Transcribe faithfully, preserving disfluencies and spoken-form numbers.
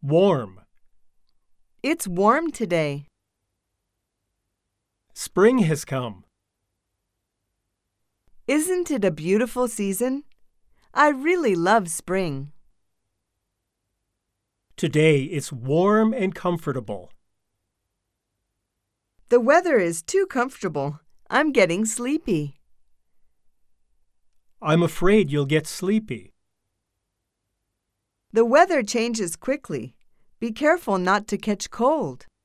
Warm. It's warm today. Spring has come. Isn't it a beautiful season? I really love spring. Today it's warm and comfortable. The weather is too comfortable. I'm getting sleepy. I'm afraid you'll get sleepy. The weather changes quickly. Be careful not to catch cold.